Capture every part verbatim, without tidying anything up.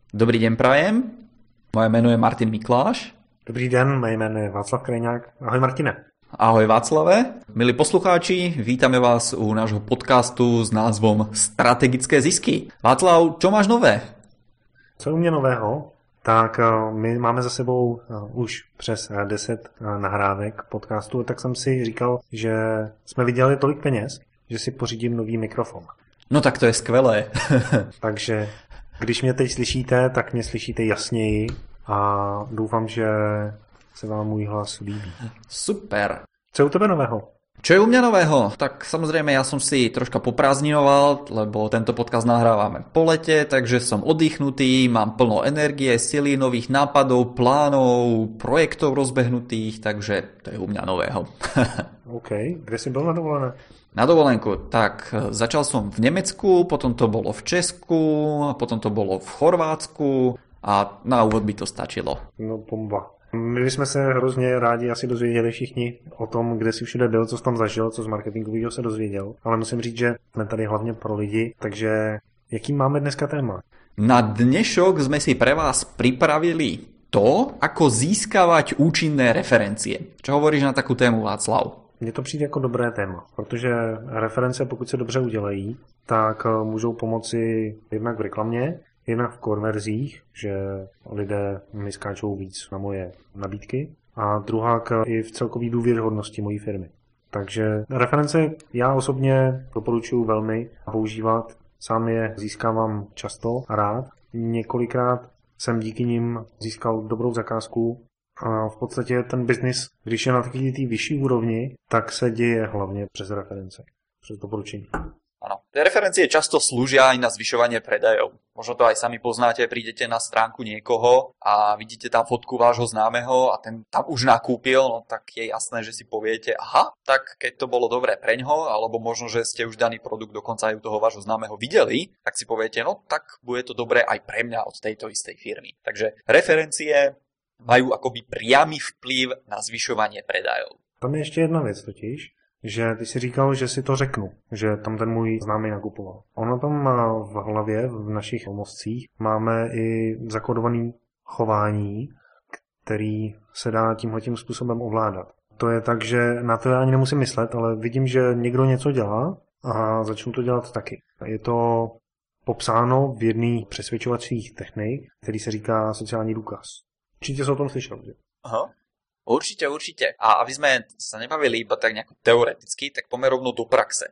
Dobrý deň prajem, moje meno je Martin Mikláš. Dobrý den, moje jméno je Václav Krejňák. Ahoj Martine. Ahoj Václave. Milí poslucháči, vítame vás u nášho podcastu s názvom Strategické zisky. Václav, čo máš nové? Co u mě nového? Tak my máme za sebou už přes deset nahrávek podcastu, tak jsem si říkal, že jsme vydělali tolik peněz, že si pořídím nový mikrofon. No tak to je skvelé. Takže když mě teď slyšíte, tak mě slyšíte jasněji a doufám, že se vám můj hlas líbí. Super. Co je u tebe nového? Čo je u mňa nového? Tak samozrejme ja som si troška poprázdninoval, lebo tento podcast nahrávame po lete, takže som oddychnutý, mám plno energie, sily, nových nápadov, plánov, projektov rozbehnutých, takže to je u mňa nového. OK, kde si bol na dovolené? Na dovolenku, tak začal som v Nemecku, potom to bolo v Česku, potom to bolo v Chorvátsku a na úvod by to stačilo. No bomba. My bychom se hrozně rádi asi dozvěděli všichni o tom, kde si všude byl, co jsi tam zažil, co z marketingového se dozvěděl. Ale musím říct, že jsme tady hlavně pro lidi, takže jaký máme dneska téma? Na dnešok sme si pre vás pripravili to, ako získavať účinné referencie. Čo hovoríš na takú tému, Václav? Mně to přijde jako dobré téma, protože reference, pokud se dobře udělají, tak můžou pomoci jednak v reklamě, jednak v konverzích, že lidé mi skáčou víc na moje nabídky, a druhá i v celkové důvěryhodnosti mojí firmy. Takže reference já osobně doporučuji velmi používat, sám je získávám často a rád. Několikrát jsem díky nim získal dobrou zakázku a v podstatě ten biznis, když je na takové té vyšší úrovni, tak se děje hlavně přes reference, přes doporučení. Áno. Referencie často slúžia aj na zvyšovanie predajov. Možno to aj sami poznáte, prídete na stránku niekoho a vidíte tam fotku vášho známeho a ten tam už nakúpil, no tak je jasné, že si poviete, aha, tak keď to bolo dobré preňho, alebo možno, že ste už daný produkt dokonca aj u toho vášho známeho videli, tak si poviete, no tak bude to dobré aj pre mňa od tejto istej firmy. Takže referencie majú akoby priamy vplyv na zvyšovanie predajov. Tam je ještě jedna věc totiž, že ty si říkal, že si to řeknu, že tam ten můj známý nakupoval. Ono tam v hlavě, v našich mozcích, máme i zakodované chování, který se dá tímhletím způsobem ovládat. To je tak, že na to já ani nemusím myslet, ale vidím, že někdo něco dělá a začnu to dělat taky. Je to popsáno v jedné přesvědčovacích technik, který se říká sociální důkaz. Určitě jsi o tom slyšel, že? Aha. Určite, určite. A aby sme sa nebavili iba tak nejako teoreticky, tak poďme rovno do praxe.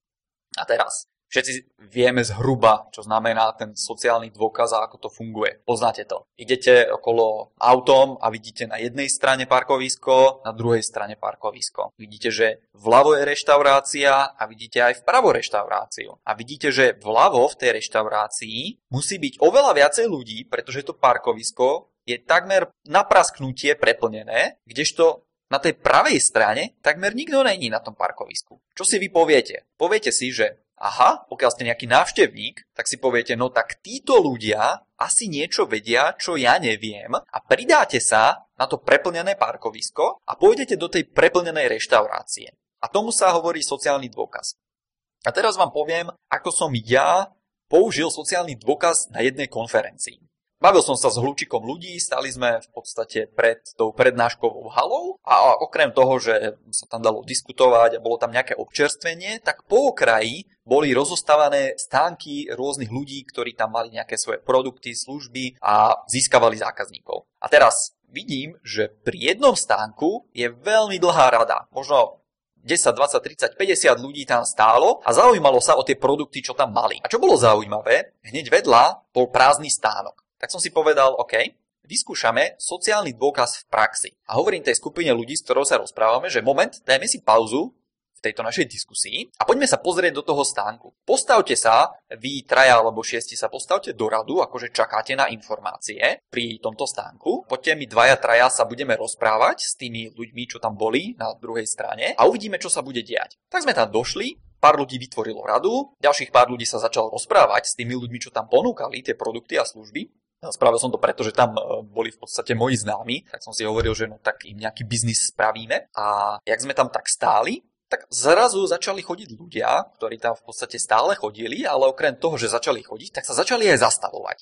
A teraz, všetci vieme zhruba, čo znamená ten sociálny dôkaz a ako to funguje. Poznáte to. Idete okolo autom a vidíte na jednej strane parkovisko, na druhej strane parkovisko. Vidíte, že vľavo je reštaurácia a vidíte aj vpravo reštauráciu. A vidíte, že vľavo v tej reštaurácii musí byť oveľa viacej ľudí, pretože to parkovisko je takmer na prasknutie preplnené, kdežto na tej pravej strane takmer nikto není na tom parkovisku. Čo si vy poviete? Poviete si, že aha, pokiaľ ste nejaký návštevník, tak si poviete, no tak títo ľudia asi niečo vedia, čo ja neviem, a pridáte sa na to preplnené parkovisko a pôjdete do tej preplnenej reštaurácie. A tomu sa hovorí sociálny dôkaz. A teraz vám poviem, ako som ja použil sociálny dôkaz na jednej konferencii. Bavil som sa s hlučikom ľudí, stali sme v podstate pred tou prednáškovou halou a okrem toho, že sa tam dalo diskutovať a bolo tam nejaké občerstvenie, tak po okraji boli rozostávané stánky rôznych ľudí, ktorí tam mali nejaké svoje produkty, služby a získavali zákazníkov. A teraz vidím, že pri jednom stánku je veľmi dlhá rada, možno desať, dvadsať, tridsať, päťdesiat ľudí tam stálo a zaujímalo sa o tie produkty, čo tam mali. A čo bolo zaujímavé, hneď vedľa bol prázdny stánok. Tak som si povedal, OK, vyskúšame sociálny dôkaz v praxi. A hovorím tej skupine ľudí, s ktorou sa rozprávame, že moment, dajme si pauzu v tejto našej diskusii a poďme sa pozrieť do toho stánku. Postavte sa, vy traja alebo šiesti sa postavte do radu, akože čakáte na informácie pri tomto stánku. Poďte my dvaja, traja sa budeme rozprávať s tými ľuďmi, čo tam boli na druhej strane a uvidíme, čo sa bude diať. Tak sme tam došli. Pár ľudí vytvorilo radu, ďalších pár ľudí sa začalo rozprávať s tými ľuďmi, čo tam ponúkali tie produkty a služby. Spravil som to preto, že tam boli v podstate moji známi, tak som si hovoril, že no tak im nejaký biznis spravíme. A jak sme tam tak stáli, tak zrazu začali chodiť ľudia, ktorí tam v podstate stále chodili, ale okrem toho, že začali chodiť, tak sa začali aj zastavovať.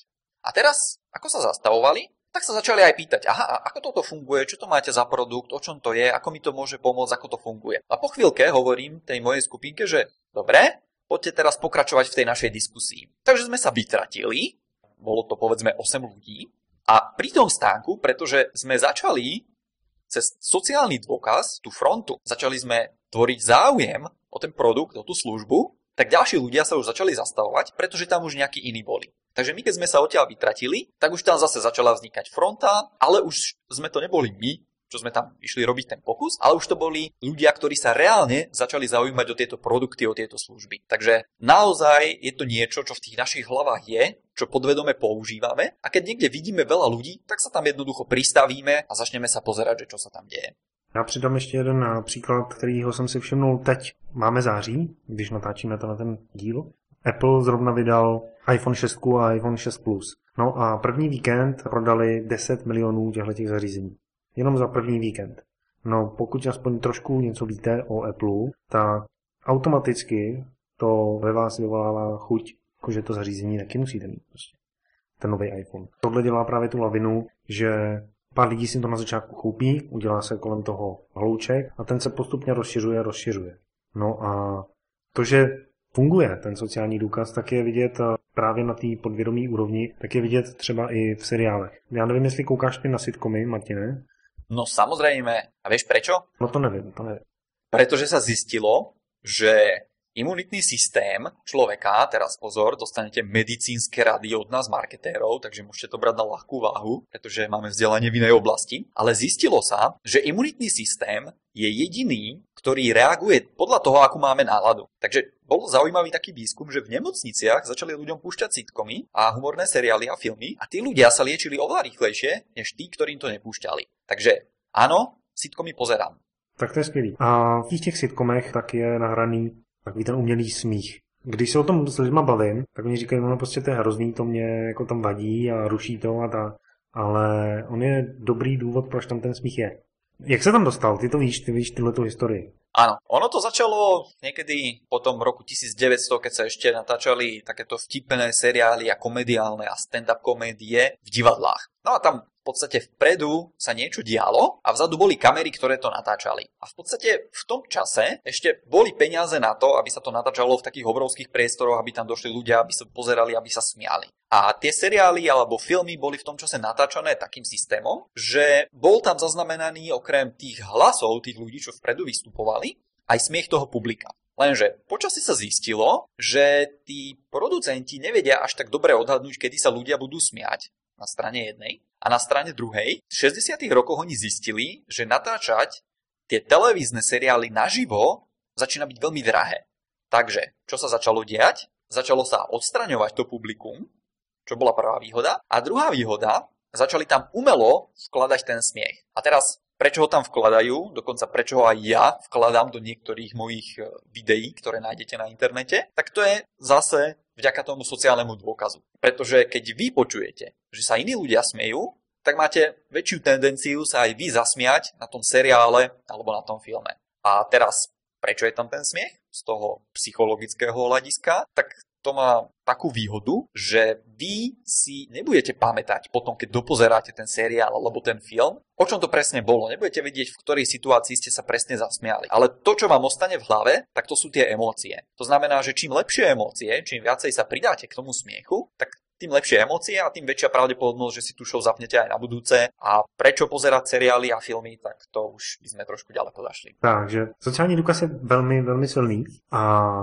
A teraz, ako sa zastavovali, tak sa začali aj pýtať, aha, ako toto funguje, čo to máte za produkt, o čom to je, ako mi to môže pomôcť, ako to funguje. A po chvíľke hovorím tej mojej skupinke, že dobre, poďte teraz pokračovať v tej našej diskusii. Takže sme sa vytratili, bolo to povedzme osem ľudí, a pri tom stánku, pretože sme začali cez sociálny dôkaz, tú frontu, začali sme tvoriť záujem o ten produkt, o tú službu, tak ďalší ľudia sa už začali zastavovať, pretože tam už nejakí iní boli. Takže my, keď sme sa odtiaľ vytratili, tak už tam zase začala vznikať fronta, ale už sme to neboli my, čo sme tam išli robiť ten pokus, ale už to boli ľudia, ktorí sa reálne začali zaujímať o tieto produkty, o tieto služby. Takže naozaj je to niečo, čo v tých našich hlavách je, čo podvedome používame, a keď niekde vidíme veľa ľudí, tak sa tam jednoducho pristavíme a začneme sa pozerať, že čo sa tam deje. Já přidám ještě jeden příklad, kterýho jsem si všimnul teď. Máme září, když natáčíme to na ten díl. Apple zrovna vydal iPhone šest a iPhone šest Plus. No a první víkend prodali deset milionů těchto zařízení. Jenom za první víkend. No pokud aspoň trošku něco víte o Apple, tak automaticky to ve vás vyvolává chuť, že to zařízení taky musíte mít. Prostě. Ten nový iPhone. Tohle dělá právě tu lavinu, že pár lidí si to na začátku koupí, udělá se kolem toho hlouček a ten se postupně rozšiřuje, rozšiřuje. No a to, že funguje ten sociální důkaz, tak je vidět právě na té podvědomí úrovni, tak je vidět třeba i v seriálech. Já nevím, jestli koukáš ty na sitcomy, Martine? No samozrejme. A vieš prečo? No to nevím, to nevím. Pretože sa zistilo, že imunitný systém človeka, teraz pozor, dostanete medicínske rady od nás marketérov, takže môžete to brať na ľahkú váhu, pretože máme vzdelanie v inej oblasti, ale zistilo sa, že imunitný systém je jediný, ktorý reaguje podľa toho, akú máme náladu. Takže bol zaujímavý taký výskum, že v nemocniciach začali ľuďom púšťať sitcomy a humorné seriály a filmy a tí ľudia sa liečili oveľa rýchlejšie, než tí, ktorým to nepúšťali. Takže áno, sitcomy pozerám. Tak to je skvělý. A v těch sitcomech tak je nahraný takový ten umělý smích. Když se o tom s lidma bavím, tak oni říkají, no prostě to je hrozný, to mě jako tam vadí a ruší to a tak. Ale on je dobrý důvod, proč tam ten smích je. Jak se tam dostal? Ty to víš, ty víš tyhletu historii. Áno, ono to začalo niekedy po tom roku devätnásťsto, keď sa ešte natáčali takéto vtipné seriály a komediálne a stand-up komédie v divadlách. No a tam v podstate vpredu sa niečo dialo a vzadu boli kamery, ktoré to natáčali. A v podstate v tom čase ešte boli peniaze na to, aby sa to natáčalo v takých obrovských priestoroch, aby tam došli ľudia, aby sa pozerali, aby sa smiali. A tie seriály alebo filmy boli v tom čase natáčané takým systémom, že bol tam zaznamenaný okrem tých hlasov tých ľudí, čo vpredu vystupovali, aj smiech toho publika. Lenže počasí sa zistilo, že tí producenti nevedia až tak dobre odhadnúť, kedy sa ľudia budú smiať na strane jednej a na strane druhej. V šesťdesiatych rokoch oni zistili, že natáčať tie televízne seriály naživo začína byť veľmi drahé. Takže, čo sa začalo diať? Začalo sa odstraňovať to publikum, čo bola prvá výhoda. A druhá výhoda, začali tam umelo vkladať ten smiech. A teraz, prečo ho tam vkladajú, dokonca prečo ho aj ja vkladám do niektorých mojich videí, ktoré nájdete na internete, tak to je zase vďaka tomu sociálnemu dôkazu. Pretože keď vy počujete, že sa iní ľudia smejú, tak máte väčšiu tendenciu sa aj vy zasmiať na tom seriále alebo na tom filme. A teraz, prečo je tam ten smiech? Z toho psychologického hľadiska, tak to má takú výhodu, že vy si nebudete pamätať potom, keď dopozeráte ten seriál alebo ten film, o čom to presne bolo. Nebudete vedieť, v ktorej situácii ste sa presne zasmiali. Ale to, čo vám ostane v hlave, tak to sú tie emócie. To znamená, že čím lepšie emócie, čím viacej sa pridáte k tomu smiechu, tak tým lepšie emócie a tým väčšia pravdepodobnosť, že si tú show zapnete aj na budúce. A prečo pozerať seriály a filmy, tak to už by sme trošku ďaleko zašli. Takže sociální důkaz je velmi, velmi silný a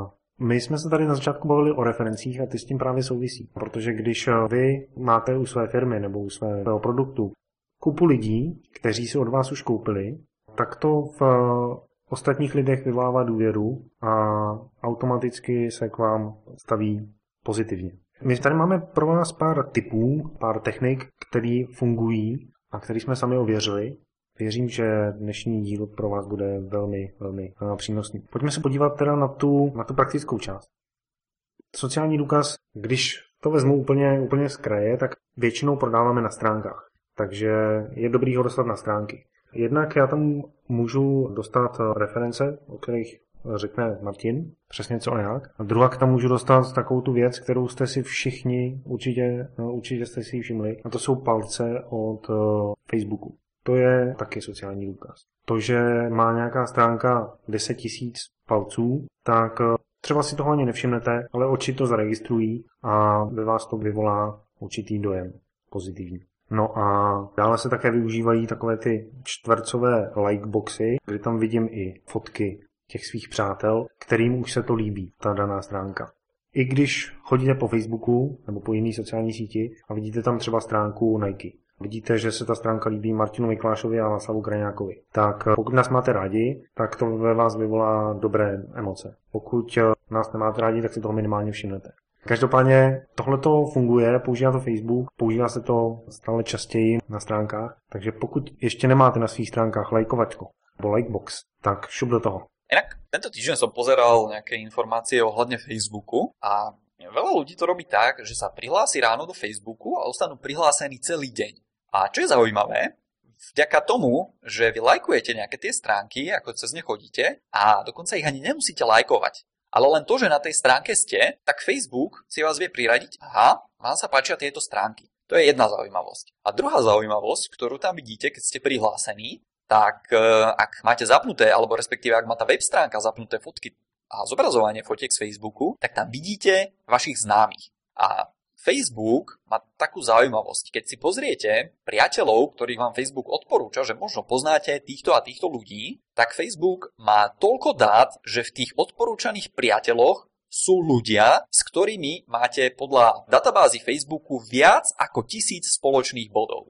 my jsme se tady na začátku bavili o referencích a ty s tím právě souvisí. Protože když vy máte u své firmy nebo u svého produktu kupu lidí, kteří si od vás už koupili, tak to v ostatních lidech vyvolává důvěru a automaticky se k vám staví pozitivně. My tady máme pro vás pár tipů, pár technik, které fungují a které jsme sami ověřili. Věřím, že dnešní díl pro vás bude velmi, velmi přínosný. Pojďme se podívat teda na tu, na tu praktickou část. Sociální důkaz, když to vezmu úplně, úplně z kraje, tak většinou prodáváme na stránkách. Takže je dobrý ho dostat na stránky. Jednak já tam můžu dostat reference, o kterých řekne Martin, přesně co a jak. A druhá tam můžu dostat takovou tu věc, kterou jste si všichni, určitě, no, určitě jste si ji všimli, a to jsou palce od uh, Facebooku. To je taky sociální důkaz. To, že má nějaká stránka deset tisíc palců, tak uh, třeba si toho ani nevšimnete, ale oči to zaregistrují a ve vás to vyvolá určitý dojem pozitivní. No a dále se také využívají takové ty čtvercové likeboxy, kdy tam vidím i fotky těch svých přátel, kterým už se to líbí, ta daná stránka. I když chodíte po Facebooku nebo po jiné sociální síti a vidíte tam třeba stránku Nike, vidíte, že se ta stránka líbí Martinu Miklášovi a Václavu Kraňákovi, tak pokud nás máte rádi, tak to ve vás vyvolá dobré emoce. Pokud nás nemáte rádi, tak si toho minimálně všimnete. Každopádně tohleto funguje, používá to Facebook, používá se to stále častěji na stránkách, takže pokud ještě nemáte na svých stránkách lajkovačku nebo likebox, tak šup do toho. Inak, tento týždeň som pozeral nejaké informácie ohľadne Facebooku a veľa ľudí to robí tak, že sa prihlási ráno do Facebooku a ostanú prihlásení celý deň. A čo je zaujímavé, vďaka tomu, že vy lajkujete nejaké tie stránky, ako cez ne chodíte, a dokonca ich ani nemusíte lajkovať. Ale len to, že na tej stránke ste, tak Facebook si vás vie priradiť, aha, vám sa páčia tieto stránky. To je jedna zaujímavosť. A druhá zaujímavosť, ktorú tam vidíte, keď ste prihlásení, tak ak máte zapnuté, alebo respektíve ak má tá web stránka zapnuté fotky a zobrazovanie fotiek z Facebooku, tak tam vidíte vašich známych. A Facebook má takú zaujímavosť. Keď si pozriete priateľov, ktorých vám Facebook odporúča, že možno poznáte týchto a týchto ľudí, tak Facebook má toľko dát, že v tých odporúčaných priateľoch sú ľudia, s ktorými máte podľa databázy Facebooku viac ako tisíc spoločných bodov.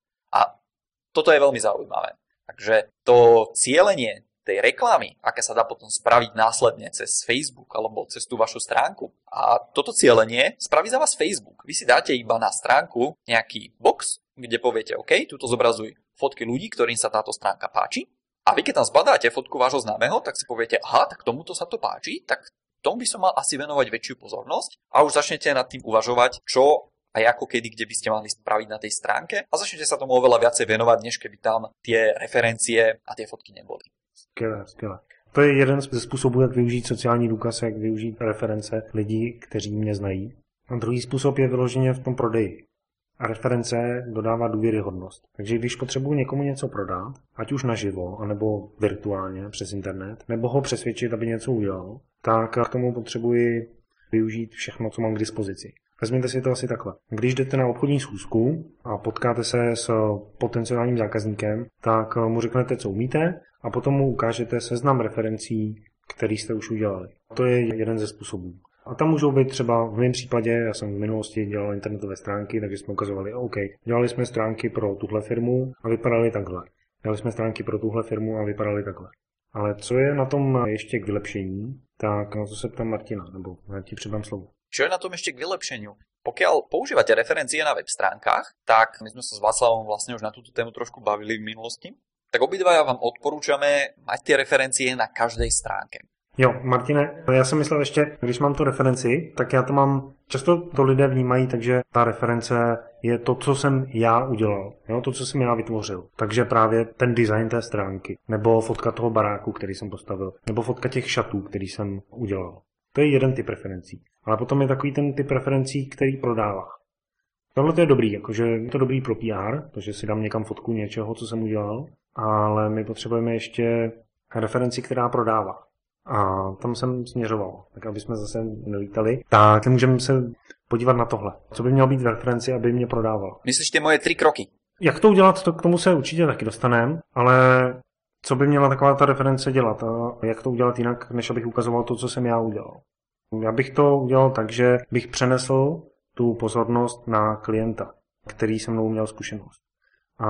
A toto je veľmi zaujímavé. Takže to cielenie tej reklamy, aké sa dá potom spraviť následne cez Facebook alebo cez tú vašu stránku. A toto cielenie spraví za vás Facebook. Vy si dáte iba na stránku nejaký box, kde poviete OK, tuto zobrazuj fotky ľudí, ktorým sa táto stránka páči. A vy keď tam zbadáte fotku vášho známeho, tak si poviete, aha, tak tomuto sa to páči, tak tomu by som mal asi venovať väčšiu pozornosť a už začnete nad tým uvažovať, čo a ako kedy, kde by ste mali spraviť na tej stránke a začnete sa tomu oveľa viacej venovať, než keby tam tie referencie a tie fotky neboli. Skvělé, skvělé. To je jeden ze způsobů, jak využít sociální důkaz, jak využít reference lidí, kteří mě znají. A druhý způsob je vyloženě v tom prodeji. A reference dodává důvěryhodnost. Takže když potřebuji někomu něco prodat, ať už naživo, anebo virtuálně přes internet, nebo ho přesvědčit, aby něco udělal, tak k tomu potřebuji využít všechno, co mám k dispozici. Vezměte si to asi takhle. Když jdete na obchodní schůzku a potkáte se s potenciálním zákazníkem, tak mu řeknete, co umíte, a potom mu ukážete seznam referencí, který jste už udělali. To je jeden ze způsobů. A tam můžou být třeba, v mém případě, já jsem v minulosti dělal internetové stránky, takže jsme ukazovali, OK, dělali jsme stránky pro tuhle firmu a vypadaly takhle. Dělali jsme stránky pro tuhle firmu a vypadaly takhle. Ale co je na tom ještě k vylepšení, tak na to se ptám Martina, nebo já ti předám slovo. Čo je na tom ešte k vylepšeniu? Pokiaľ používate referencie na web stránkach, tak my sme sa s Václavom vlastne už na túto tému trošku bavili v minulosti, tak obidvaja vám odporúčame mať tie referencie na každej stránke. Jo, Martine, já jsem myslel ještě, když mám tu referenci, tak já to mám, často to lidé vnímají, takže ta reference je to, co jsem já udělal, jo, to, co jsem já vytvořil. Takže právě ten design té stránky, nebo fotka toho baráku, který jsem postavil, nebo fotka těch šatů, který jsem udělal. To je jeden typ referencí. Ale potom je takový ten typ referencí, který prodává. Tohle to je dobrý, jakože je to dobrý pro P R, protože si dám někam fotku něčeho, co jsem udělal, ale my potřebujeme ještě referenci, která prodává. A tam jsem směřoval, tak aby jsme zase nelítali. Tak můžeme se podívat na tohle. Co by mělo být v referenci, aby mě prodával? Myslíš ty moje tři kroky? Jak to udělat, to k tomu se určitě taky dostaneme, ale co by měla taková ta reference dělat a jak to udělat jinak, než abych ukazoval to, co jsem já udělal. Já bych to udělal tak, že bych přenesl tu pozornost na klienta, který se mnou měl zkušenost. A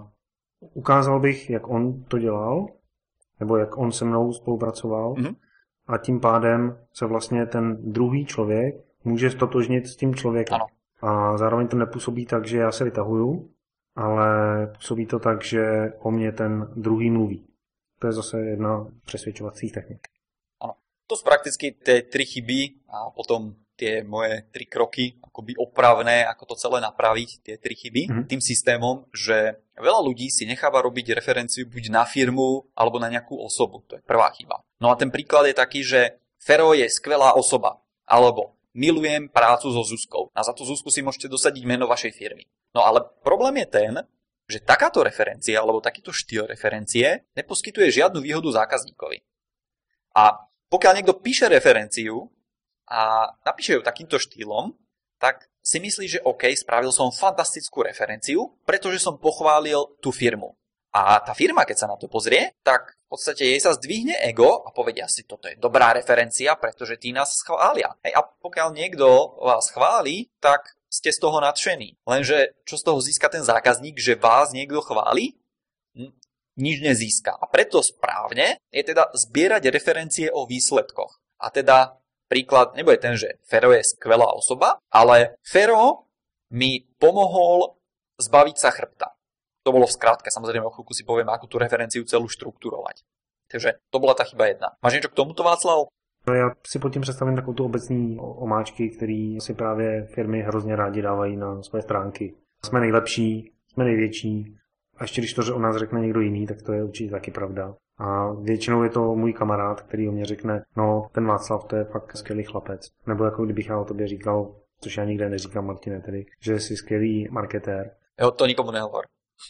ukázal bych, jak on to dělal, nebo jak on se mnou spolupracoval, mm-hmm. a tím pádem se vlastně ten druhý člověk může stotožnit s tím člověkem. Ano. A zároveň to nepůsobí tak, že já se vytahuju, ale působí to tak, že o mě ten druhý mluví. To je zase jedna přesvědčovací technik. Ano. To sú prakticky tie tri chyby a potom tie moje tri kroky, akoby opravné, ako to celé napraviť, tie tri chyby, mm-hmm. tým systémom, že veľa ľudí si necháva robiť referenciu buď na firmu, alebo na nejakú osobu. To je prvá chyba. No a ten príklad je taký, že Fero je skvelá osoba, alebo milujem prácu so Zuzkou. A za tú Zuzku si môžete dosadiť meno vašej firmy. No ale problém je ten, že takáto referencia, alebo takýto štýl referencie neposkytuje žiadnu výhodu zákazníkovi. A pokiaľ niekto píše referenciu, a napíše ju takýmto štýlom, tak si myslí, že OK, spravil som fantastickú referenciu, pretože som pochválil tú firmu. A tá firma, keď sa na to pozrie, tak v podstate jej sa zdvihne ego a povedia si, toto je dobrá referencia, pretože tí nás schvália. Hej, a pokiaľ niekto vás chváli, tak ste z toho nadšení. Lenže čo z toho získa ten zákazník, že vás niekto chváli? Hm, nič nezíska. A preto správne je teda zbierať referencie o výsledkoch. A teda príklad nebude ten, že Fero je skvelá osoba, ale Fero mi pomohol zbaviť sa chrbta. To bolo v skratke, samozrejme o chvíľku si povieme, ako tú referenciu celú štruktúrovať. Takže to bola tá chyba jedna. Máš niečo k tomuto, Václav? Já si pod tím představím takovou tu obecní omáčky, který si právě firmy hrozně rádi dávají na své stránky. Jsme nejlepší, jsme největší. A ještě když to o nás řekne někdo jiný, tak to je určitě taky pravda. A většinou je to můj kamarád, který o mě řekne, no ten Václav, to je fakt skvělý chlapec. Nebo jako kdybych já o tobě říkal, což já nikde neříkám, Martine, tedy, že jsi skvělý marketér. Jo, to nikomu nehovor.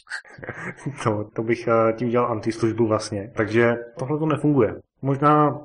to, to bych tím dělal antislužbu vlastně. Takže tohle to nefunguje. Možná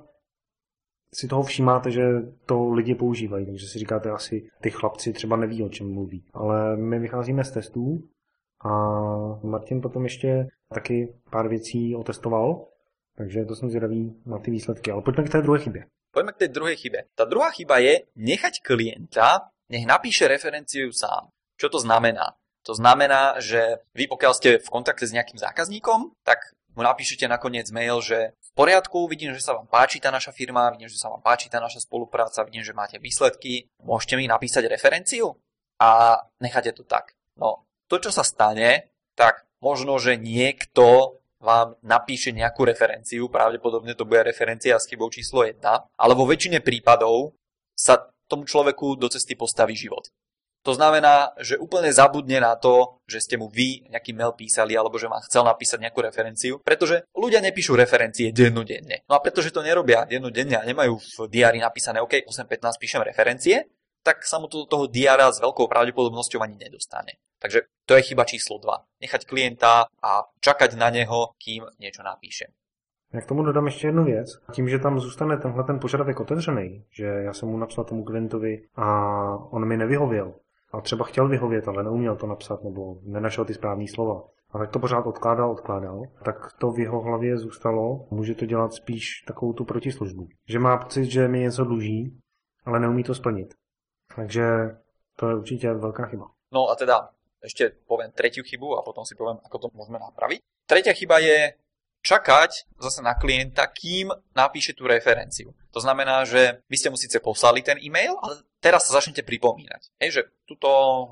si toho všímáte, že to lidi používají, takže si říkáte asi, ty chlapci třeba neví, o čem mluví. Ale my vycházíme z testů a Martin potom ještě taky pár věcí otestoval, takže to jsem zvědavý na ty výsledky. Ale pojďme k té druhé chybě. Pojďme k té druhé chybě. Ta druhá chyba je nechať klienta, nech napíše referenciu sám. Čo to znamená? To znamená, že vy pokiaľ ste v kontakte s nejakým zákazníkom, tak mu napíšete nakoniec mail, že v poriadku, vidím, že sa vám páči tá naša firma, vidím, že sa vám páči tá naša spolupráca, vidím, že máte výsledky, môžete mi napísať referenciu a necháte to tak. No, to, čo sa stane, tak možno, že niekto vám napíše nejakú referenciu, pravdepodobne to bude referencia s chybou číslo jedna, ale vo väčšine prípadov sa tomu človeku do cesty postaví život. To znamená, že úplne zabudne na to, že ste mu vy nejaký mail písali alebo že vám chcel napísať nejakú referenciu, pretože ľudia nepíšu referencie dennodenne. No a pretože to nerobia dennodenne a nemajú v diári napísané OK, osem pätnásť píšem referencie, tak sa mu to do toho diára s veľkou pravdepodobnosťou ani nedostane. Takže to je chyba číslo dva. Nechať klienta a čakať na neho, kým niečo napíše. Já k tomu dodám ještě jednu věc. Tím, že tam zůstane tenhle ten požadavek otevřený, že já jsem mu napsal tomu klientovi a on mi nevyhověl, a třeba chtěl vyhovět, ale neuměl to napsat nebo nenašel ty správné slova. A tak to pořád odkládal, odkládal. Tak to v jeho hlavě zůstalo. Může to dělat spíš takovou tu protislužbu. Že má pocit, že mi něco dluží, ale neumí to splnit. Takže to je určitě velká chyba. No a teda ešte poviem tretiu chybu a potom si poviem, ako to môžeme napraviť. Tretia chyba je čakať zase na klienta, kým napíše tú referenciu. To znamená, že vy ste mu síce poslali ten e-mail, ale teraz sa začnete pripomínať. Hej, že tuto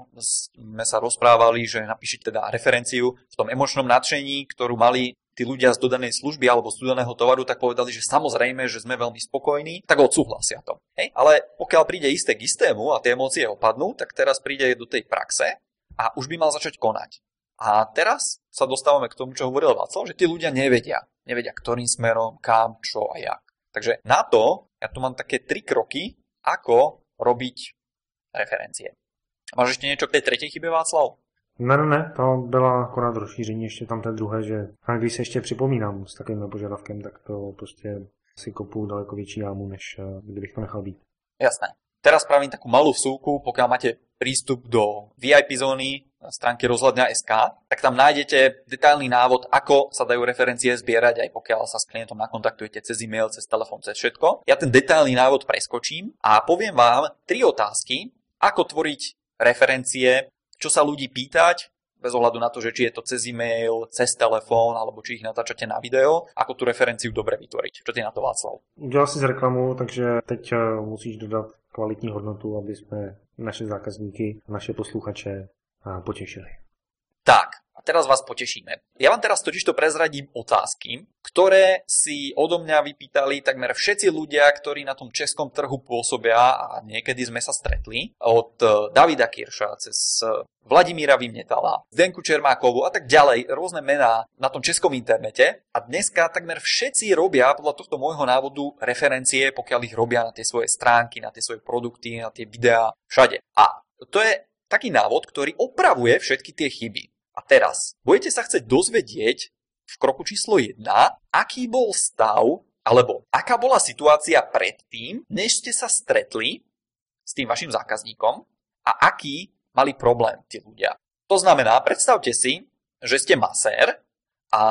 sme sa rozprávali, že napíšete teda referenciu v tom emočnom nadšení, ktorú mali tí ľudia z dodanej služby alebo z dodaného tovaru, tak povedali, že samozrejme, že sme veľmi spokojní, tak odsúhlasia to. Hej? Ale pokiaľ príde isté k istému a tie emócie opadnú, tak teraz príde do tej praxe a už by mal začať konať. A teraz sa dostávame k tomu, čo hovoril Václav, že tí ľudia nevedia. Nevedia, ktorým smerom, kam, čo a jak. Takže na to, ja tu mám také tri kroky, ako robiť referencie. Máš ešte niečo k tej tretej chybe, Václav? Ne, ne, ne, to byla akorát rozšíření ještě tam té druhé, že a když se ještě připomínám s takovým požadavkem, tak to prostě si kopu daleko větší jámu, než kdybych to nechal být. Jasné. Teraz spravím takú malú vsúku, pokiaľ máte prístup do vé í pé zóny na stránke rozhľadňa bodka es ká, tak tam nájdete detailný návod, ako sa dajú referencie zbierať, aj pokiaľ sa s klientom nakontaktujete cez e-mail, cez telefón, cez všetko. Ja ten detailný návod preskočím a poviem vám tri otázky, ako tvoriť referencie, čo sa ľudí pýtať, bez ohľadu na to, že či je to cez e-mail, cez telefón, alebo či ich natáčate na video, ako tú referenciu dobre vytvoriť. Čo ty na to, Václav? Udělal si z reklamu, takže teď musíš dodat kvalitní hodnotu, aby jsme naše zákazníky, naše posluchače potěšili. Tak, A teraz vás potešíme. Ja vám teraz totižto prezradím otázky, ktoré si odo mňa vypýtali takmer všetci ľudia, ktorí na tom českom trhu pôsobia a niekedy sme sa stretli. Od Davida Kirša cez Vladimíra Vymnetala, Zdenku Čermákovú a tak ďalej, rôzne mená na tom českom internete. A dneska takmer všetci robia podľa tohto môjho návodu referencie, pokiaľ ich robia na tie svoje stránky, na tie svoje produkty, na tie videá, všade. A to je taký návod, ktorý opravuje všetky tie chyby. A teraz budete sa chcieť dozvedieť v kroku číslo jedna, aký bol stav, alebo aká bola situácia predtým, než ste sa stretli s tým vašim zákazníkom a aký mali problém tí ľudia. To znamená, predstavte si, že ste masér a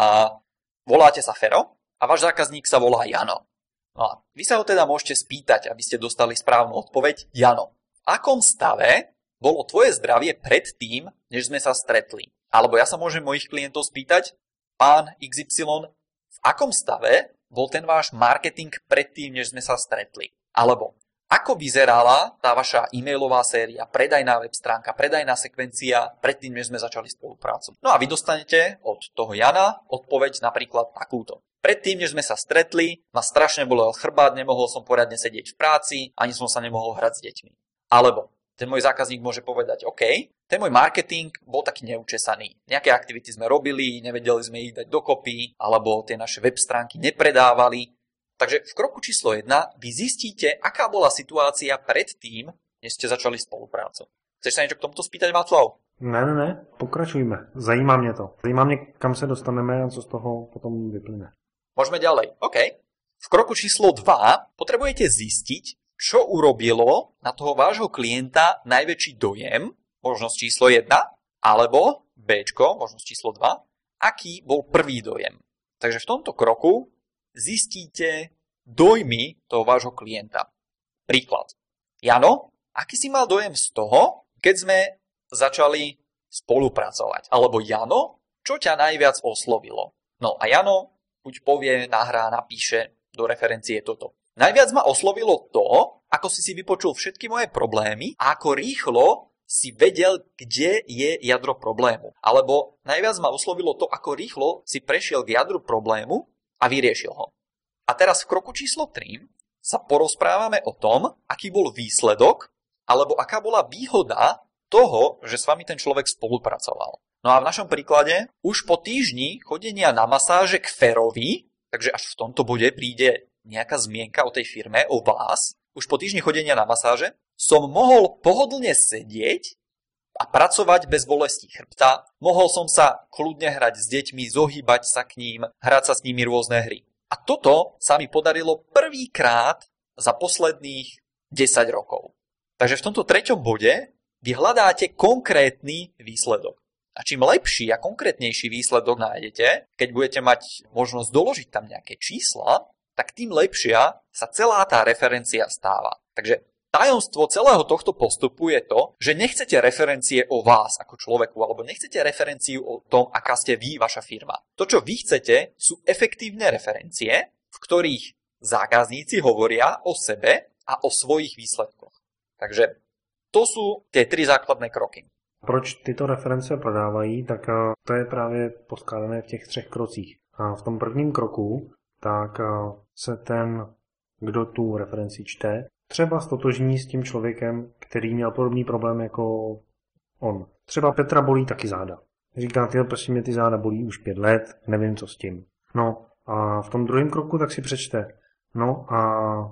voláte sa Fero a váš zákazník sa volá Jano. No a vy sa ho teda môžete spýtať, aby ste dostali správnu odpoveď. Jano, v akom stave bolo tvoje zdravie predtým, než sme sa stretli? Alebo ja sa môžem mojich klientov spýtať, pán iks ypsilon, v akom stave bol ten váš marketing predtým, než sme sa stretli? Alebo ako vyzerala tá vaša e-mailová séria, predajná web stránka, predajná sekvencia predtým, než sme začali spoluprácu? No a vy dostanete od toho Jana odpoveď napríklad takúto. Predtým, než sme sa stretli, ma strašne bolel chrbát, nemohol som poriadne sedieť v práci, ani som sa nemohol hrať s deťmi. Alebo ten môj zákazník môže povedať, OK, ten môj marketing bol taký neučesaný. Nejaké aktivity sme robili, nevedeli sme ich dať dokopy, alebo tie naše web stránky nepredávali. Takže v kroku číslo jedna vy zistíte, aká bola situácia predtým, než ste začali spoluprácu. Chceš sa niečo k tomuto spýtať, Václav? Ne, ne, ne, pokračujme. Zajímá mě to. Zajímá mě, kam se dostaneme a co z toho potom vyplyne. Môžeme ďalej. OK. V kroku číslo dva potrebujete zistiť, čo urobilo na toho vášho klienta najväčší dojem, možnosť číslo jedna, alebo Bčko, možnosť číslo dva, aký bol prvý dojem. Takže v tomto kroku zistíte dojmy toho vášho klienta. Príklad. Jano, aký si mal dojem z toho, keď sme začali spolupracovať? Alebo Jano, čo ťa najviac oslovilo? No a Jano buď povie, nahrá, napíše do referencie toto. Najviac ma oslovilo to, ako si si vypočul všetky moje problémy a ako rýchlo si vedel, kde je jadro problému. Alebo najviac ma oslovilo to, ako rýchlo si prešiel k jadru problému a vyriešil ho. A teraz v kroku číslo tri sa porozprávame o tom, aký bol výsledok, alebo aká bola výhoda toho, že s vami ten človek spolupracoval. No a v našom príklade už po týždni chodenia na masáže k Ferovi, takže až v tomto bode príde nejaká zmienka o tej firme, o vás, už po týždni chodenia na masáže, som mohol pohodlne sedieť a pracovať bez bolesti chrbta. Mohol som sa kľudne hrať s deťmi, zohýbať sa k ním, hrať sa s nimi rôzne hry. A toto sa mi podarilo prvýkrát za posledných desať rokov. Takže v tomto treťom bode vy hľadáte konkrétny výsledok. A čím lepší a konkrétnejší výsledok nájdete, keď budete mať možnosť doložiť tam nejaké čísla, tak tým lepšia sa celá tá referencia stáva. Takže tajomstvo celého tohto postupu je to, že nechcete referencie o vás ako človeku, alebo nechcete referenciu o tom, aká ste vy, vaša firma. To, čo vy chcete, sú efektívne referencie, v ktorých zákazníci hovoria o sebe a o svojich výsledkoch. Takže to sú tie tri základné kroky. Proč tyto reference prodávají, tak to je právě poskládané v těch třech krocích. A v tom prvním kroku tak se ten, kdo tu referenci čte, třeba stotožní s tím člověkem, který měl podobný problém jako on. Třeba Petra bolí taky záda. Říká, tyhle, prosím mě ty záda bolí už pět let, nevím co s tím. No a v tom druhém kroku tak si přečte. No a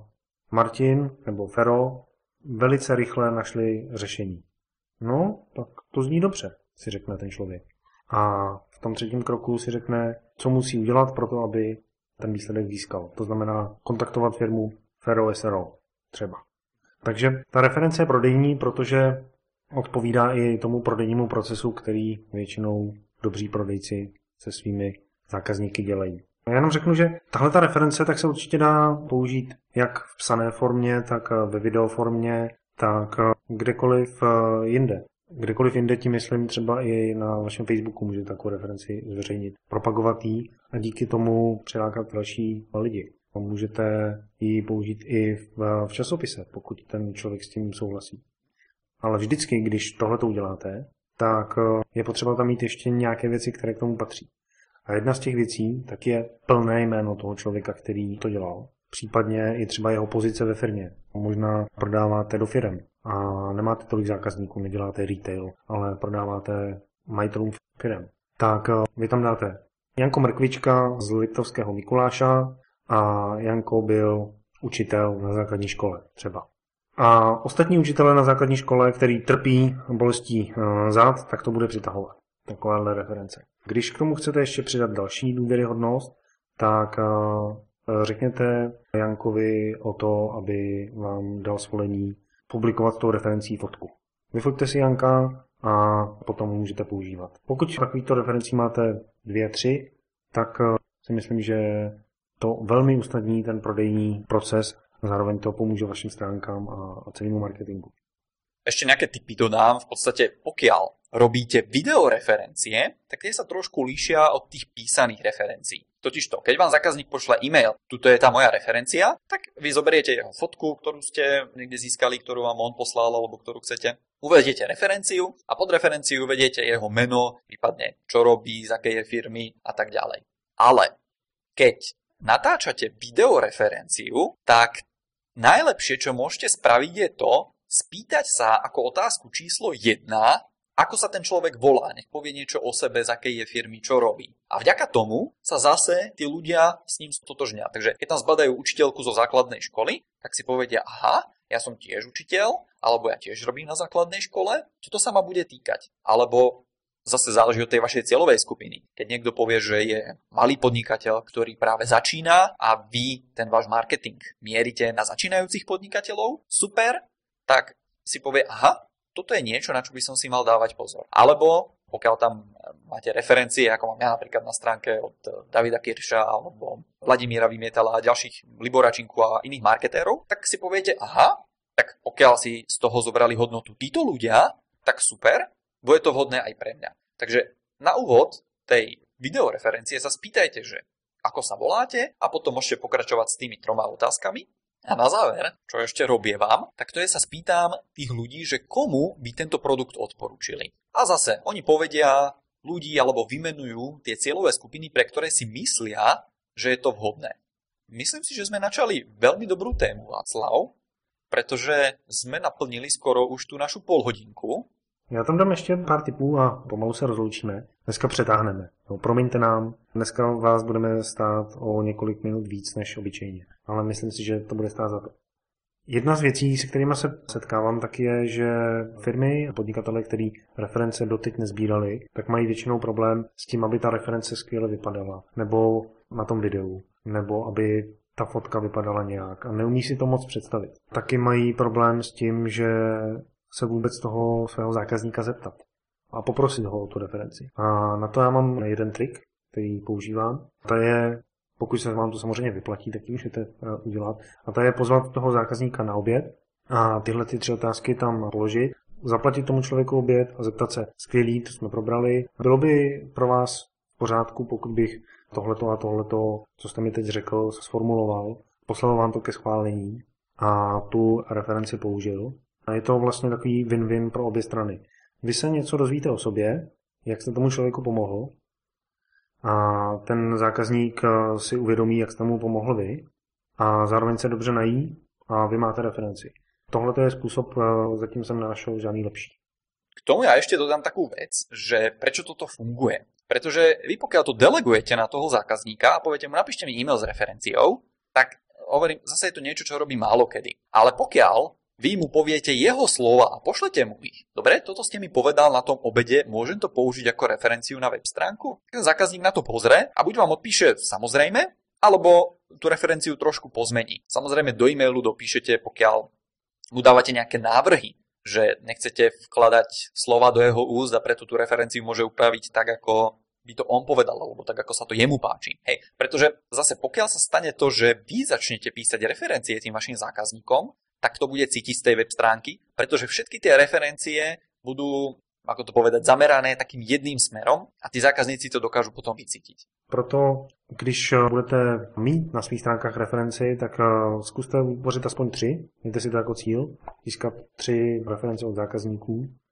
Martin nebo Fero velice rychle našli řešení. No, tak to zní dobře, si řekne ten člověk. A v tom třetím kroku si řekne, co musí udělat pro to, aby ten výsledek získal. To znamená kontaktovat firmu Fero es er o třeba. Takže ta reference je prodejní, protože odpovídá i tomu prodejnímu procesu, který většinou dobří prodejci se svými zákazníky dělají. Já jenom řeknu, že tahle ta reference tak se určitě dá použít jak v psané formě, tak ve videoformě, tak kdekoliv jinde. Kdekoliv jinde, tím myslím třeba i na vašem Facebooku můžete takovou referenci zveřejnit, propagovat ji a díky tomu přilákat další lidi. A můžete ji použít i v, v časopise, pokud ten člověk s tím souhlasí. Ale vždycky, když tohle to uděláte, tak je potřeba tam mít ještě nějaké věci, které k tomu patří. A jedna z těch věcí tak je plné jméno toho člověka, který to dělal. Případně i třeba jeho pozice ve firmě. Možná prodáváte do firem a nemáte tolik zákazníků, neděláte retail, ale prodáváte majitelům firem. Tak vy tam dáte Janko Mrkvička z Liptovského Mikuláša a Janko byl učitel na základní škole třeba. A ostatní učitelé na základní škole, který trpí bolestí zad, tak to bude přitahovat. Takovéhle reference. Když k tomu chcete ještě přidat další důvěryhodnost, tak řekněte Jankovi o to, aby vám dal svolení publikovat s tou referencí fotku. Vyfoťte si Janka a potom můžete používat. Pokud takovýchto referencí máte dvě, tři, tak si myslím, že to velmi usnadní ten prodejní proces a zároveň to pomůže vašim stránkám a celému marketingu. Ešte nejaké tipy dodám. V podstate, pokiaľ robíte videoreferencie, tak tie sa trošku líšia od tých písaných referencií. Totižto, keď vám zákazník pošle e-mail, tuto je tá moja referencia, tak vy zoberiete jeho fotku, ktorú ste niekde získali, ktorú vám on poslal, alebo ktorú chcete. Uvediete referenciu a pod referenciu uvediete jeho meno, prípadne čo robí, z akej je firmy a tak ďalej. Ale keď natáčate videoreferenciu, tak najlepšie, čo môžete spraviť, je to, spýtať sa ako otázku číslo jedna, ako sa ten človek volá, nech povie niečo o sebe, z akej je firmy, čo robí. A vďaka tomu sa zase tí ľudia s ním stotožnia. Takže keď tam zbadajú učiteľku zo základnej školy, tak si povedia, aha, ja som tiež učiteľ, alebo ja tiež robím na základnej škole, toto sa ma bude týkať. Alebo zase záleží od tej vašej cieľovej skupiny. Keď niekto povie, že je malý podnikateľ, ktorý práve začína a vy ten váš marketing mierite na začínajúcich podnikateľov, super, tak si povie, aha, toto je niečo, na čo by som si mal dávať pozor. Alebo pokiaľ tam máte referencie, ako mám ja napríklad na stránke od Davida Kirša alebo Vladimíra Vymietala a ďalších Liboračinku a iných marketérov, tak si poviete, aha, tak pokiaľ si z toho zobrali hodnotu títo ľudia, tak super, bude to vhodné aj pre mňa. Takže na úvod tej videoreferencie sa spýtajte, že ako sa voláte a potom môžete pokračovať s tými troma otázkami. A na záver, čo ešte robievam, tak to je sa spýtam tých ľudí, že komu by tento produkt odporúčili. A zase, oni povedia ľudí alebo vymenujú tie cieľové skupiny, pre ktoré si myslia, že je to vhodné. Myslím si, že sme načali veľmi dobrú tému, Václav, pretože sme naplnili skoro už tú našu polhodinku. Já tam dám ještě pár tipů a pomalu se rozloučíme. Dneska přetáhneme. No, promiňte nám, dneska vás budeme stát o několik minut víc než obyčejně. Ale myslím si, že to bude stát za to. Jedna z věcí, se kterými se setkávám, tak je, že firmy a podnikatele, který reference doteď nezbírali, tak mají většinou problém s tím, aby ta reference skvěle vypadala. Nebo na tom videu. Nebo aby ta fotka vypadala nějak. A neumí si to moc představit. Taky mají problém s tím, že se vůbec toho svého zákazníka zeptat a poprosit ho o tu referenci. A na to já mám jeden trik, který používám. To je, pokud se vám to samozřejmě vyplatí, tak ji můžete udělat. A to je pozvat toho zákazníka na oběd a tyhle ty tři otázky tam položit, zaplatit tomu člověku oběd a zeptat se, skvělý, to jsme probrali. Bylo by pro vás v pořádku, pokud bych tohleto a tohleto, co jste mi teď řekl, sformuloval, poslal vám to ke schválení a tu referenci použil. A je to vlastně takový win-win pro obě strany. Vy se něco dozvíte o sobě, jak jste tomu člověku pomohl, a ten zákazník si uvědomí, jak jste mu pomohl vy, a zároveň se dobře nají a vy máte referenci. Tohle je způsob, zatím jsem nenašel žádný lepší. K tomu ja ešte dodám takú vec, že prečo toto funguje. Pretože vy pokiaľ to delegujete na toho zákazníka a poviete mu, napíšte mi e-mail s referenciou, tak hovorím, zase je to niečo, čo robí málo kedy. Ale pokiaľ vy mu poviete jeho slova a pošlete mu ich. Dobre, toto ste mi povedal na tom obede, môžem to použiť ako referenciu na web stránku? Ten zákazník na to pozrie a buď vám odpíše samozrejme, alebo tú referenciu trošku pozmení. Samozrejme do e-mailu dopíšete, pokiaľ mu dávate nejaké návrhy, že nechcete vkladať slova do jeho úst a preto tú referenciu môže upraviť tak, ako by to on povedal, alebo tak, ako sa to jemu páči. Hej, pretože zase pokiaľ sa stane to, že vy začnete písať referencie tým vašim zákazníkom, tak to bude cítiť z tej web stránky, pretože všetky tie referencie budú, ako to povedať, zamerané takým jedným smerom a tí zákazníci to dokážu potom vycítiť. Proto, když budete mít na svých stránkách referenci, tak zkuste vytvořit aspoň tři, mějte si to jako cíl, získat tři reference od zákazníků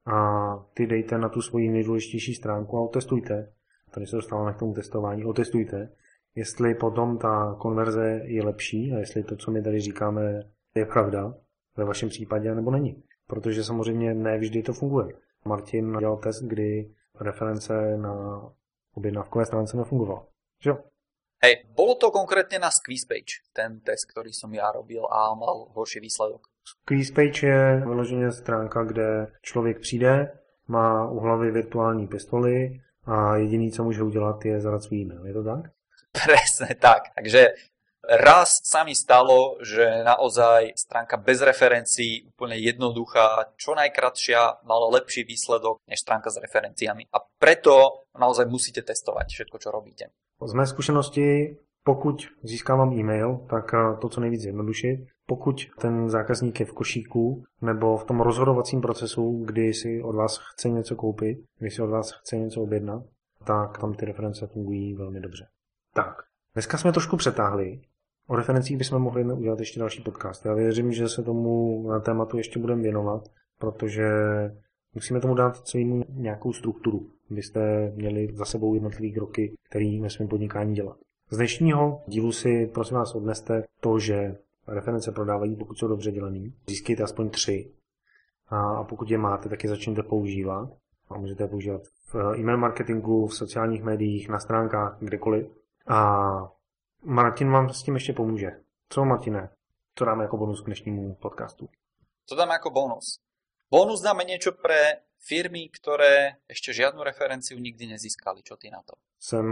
a ty dejte na tu svoji nejdůležitější stránku a otestujte. Tady se dostáváme k tomu testování. Otestujte, jestli potom ta konverze je lepší a jestli to, co my tady říkáme, je pravda ve vašem případě, nebo není. Protože samozřejmě ne vždy to funguje. Martin dělal test, kdy reference na objednávkové stránce nefungovala. Jo? Hej, bolo to konkrétne na Squeezepage, ten test, ktorý som ja robil a mal horší výsledok. Squeezepage je vyloženě stránka, kde člověk přijde, má u hlavy virtuální pistoli a jediný, co může udělat, je zadat svůj e-mail. Je to tak? Presne tak. Takže raz sa mi stalo, že naozaj stránka bez referencií, úplne jednoduchá, čo najkratšia, mala lepší výsledok než stránka s referenciami. A preto naozaj musíte testovať všetko, čo robíte. Z mé zkušenosti, pokud získávám e-mail, tak to co nejvíc zjednodušit. Pokud ten zákazník je v košíku nebo v tom rozhodovacím procesu, kdy si od vás chce něco koupit, kdy si od vás chce něco objednat, tak tam ty reference fungují velmi dobře. Tak, dneska jsme trošku přetáhli. O referencích bychom mohli udělat ještě další podcast. Já věřím, že se tomu na tématu ještě budeme věnovat, protože musíme tomu dát celému nějakou strukturu. Byste měli za sebou jednotlivý kroky, který ve svém podnikání dělat. Z dnešního dílu si prosím vás odneste to, že reference prodávají, pokud jsou dobře dělaný. Získejte aspoň tři. A pokud je máte, tak je začněte používat. A můžete je používat v e-mail marketingu, v sociálních médiích, na stránkách, kdekoliv. A Martin vám s tím ještě pomůže. Co, Martine? Co dáme jako bonus k dnešnímu podcastu? Co dáme ako bonus? Bonus dáme niečo pre firmy, ktoré ešte žiadnu referenciu nikdy nezískali. Čo ty na to? Jsem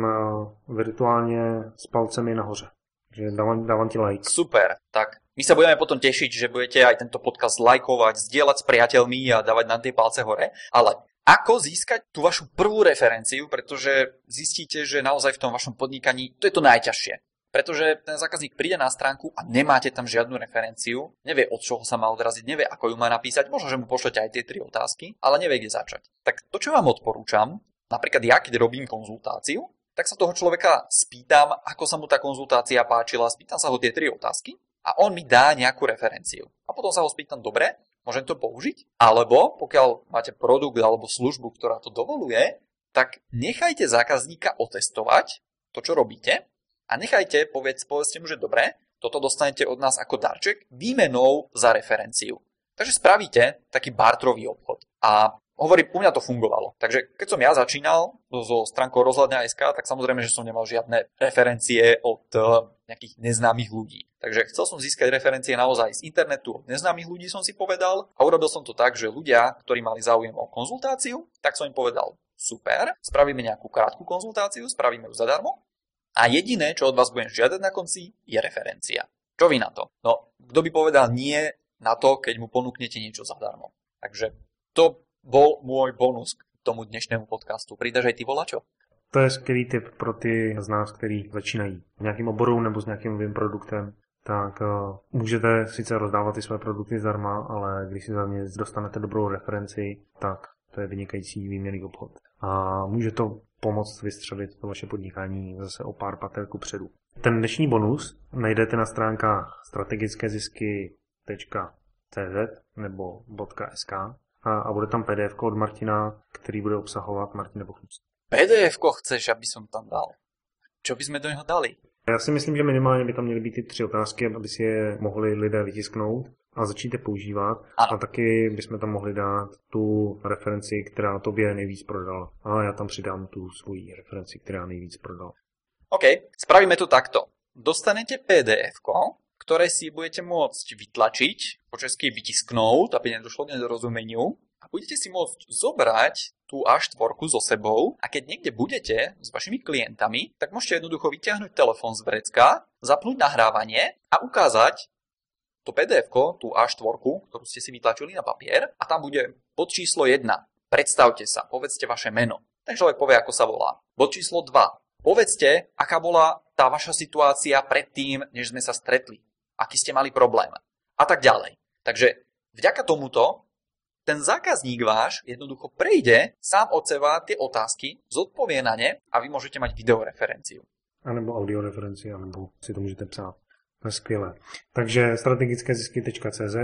virtuálně s palcemi nahoře. Takže dávam, dávam ti like. Super. Tak my sa budeme potom tešiť, že budete aj tento podcast lajkovať, zdieľať s priateľmi a dávať na tie palce hore. Ale ako získať tú vašu prvú referenciu, pretože zistíte, že naozaj v tom vašom podnikaní to je to najťažšie. Pretože ten zákazník príde na stránku a nemáte tam žiadnu referenciu, nevie od čoho sa má odraziť, nevie ako ju má napísať, možno, že mu pošlete aj tie tri otázky, ale nevie kde začať. Tak to, čo vám odporúčam, napríklad ja, keď robím konzultáciu, tak sa toho človeka spýtam, ako sa mu tá konzultácia páčila, spýtam sa ho tie tri otázky a on mi dá nejakú referenciu. A potom sa ho spýtam, dobre, môžem to použiť? Alebo pokiaľ máte produkt alebo službu, ktorá to dovoluje, tak nechajte zákazníka otestovať to, čo robíte, a nechajte, povedz, povedzte mu, že dobre, toto dostanete od nás ako darček výmenou za referenciu. Takže spravíte taký bartrový obchod. A hovorím, u mňa to fungovalo. Takže keď som ja začínal so stránkou rozhľadňa bodka es ká, tak samozrejme, že som nemal žiadne referencie od nejakých neznámych ľudí. Takže chcel som získať referencie naozaj z internetu od neznámych ľudí, som si povedal. A urobil som to tak, že ľudia, ktorí mali záujem o konzultáciu, tak som im povedal, super, spravíme nejakú krátku konzultáciu, spravíme ju zadarmo. A jediné, čo od vás budem žiadať na konci, je referencia. Čo vy na to? No, kto by povedal nie na to, keď mu ponúknete niečo zadarmo. Takže to bol môj bonus k tomu dnešnému podcastu. Pridáš aj ty volačo? To je skvělý tip pro ty z nás, kteří začínají v nějakým oboru nebo s nějakým novým produktem. Tak uh, můžete sice rozdávat ty své produkty zdarma, ale když si za ně dostanete dobrou referenci, tak to je vynikající výměnný obchod. A může to pomoct vystřelit to vaše podnikání zase o pár pater kupředu. Ten dnešní bonus najdete na stránkách strategické zisky tečka cé zet nebo .sk a, a bude tam pé dé efko od Martina, který bude obsahovat Martin Bochnic. pé dé efko chceš, aby som tam dal? Čo by sme do něho dali? Já si myslím, že minimálně by tam měly být ty tři otázky, aby si je mohli lidé vytisknout a začít je používat. Ano. A taky bychom tam mohli dát tu referenci, která tobě nejvíc prodala. A já tam přidám tu svoji referenci, která nejvíc prodala. OK, spravíme to takto. Dostanete pé dé efko, ktoré si budete môcť vytlačiť, po česky vytisknúť, aby nedošlo k nedorozumeniu. A budete si môcť zobrať tú á štyri so sebou a keď niekde budete s vašimi klientami, tak môžete jednoducho vyťahnuť telefón z vrecka, zapnúť nahrávanie a ukázať to pé dé efko, tú á štyri, ktorú ste si vytlačili na papier a tam bude bod číslo jedna. Predstavte sa, povedzte vaše meno. Ten človek povie, ako sa volá. Bod číslo dva. Povedzte, aká bola tá vaša situácia predtým, než sme sa stretli. Aký ste mali problém. A tak ďalej. Takže vďaka tomuto ten zákazník váš jednoducho prejde sám od seba tie otázky, zodpovie na ne a vy môžete mať videoreferenciu. A nebo audioreferenci, anebo si to můžete psát. To je skvělé. Takže strategické zisky tečka cé zet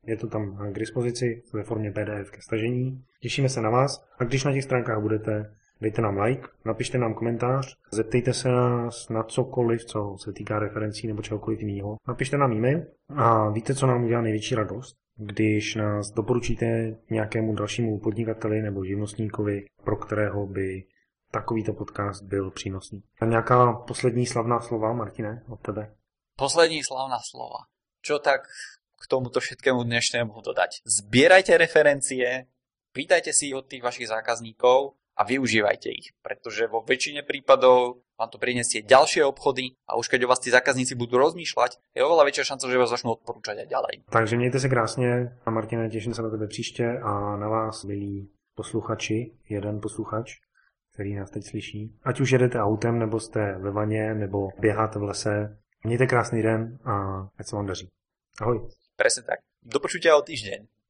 Je to tam k dispozici ve formě P D F ke stažení. Těšíme se na vás a když na těch stránkách budete, dejte nám like, napište nám komentář, zeptejte se nás na cokoliv, co se týká referencí nebo čehokoliv jiného. Napište nám e-mail a víte, co nám udělá největší radost? Když nás doporučíte nějakému dalšímu podnikateli nebo živnostníkovi, pro kterého by takovýto podcast byl přínosný. A nějaká poslední slavná slova, Martine, od tebe? Poslední slavná slova. Čo tak k tomuto všetkému dnešnému dodať? Zbierajte referencie, pýtajte si ich od tých vašich zákazníkov a využívajte ich, pretože vo väčšine prípadov vám to prinesie ďalšie obchody a už keď o vás tí zákazníci budú rozmýšľať, je oveľa väčšia šanca, že vás začnú odporúčať aj ďalej. Takže mějte se krásně a Martine, těším se na tebe příště a na vás, milí posluchači, jeden posluchač, který nás teď slyší. Ať už jedete autem, nebo jste ve vaně, nebo běháte v lese, mějte krásný den a ať se vám daří. Ahoj. Presne tak. Do počutia o týždeň.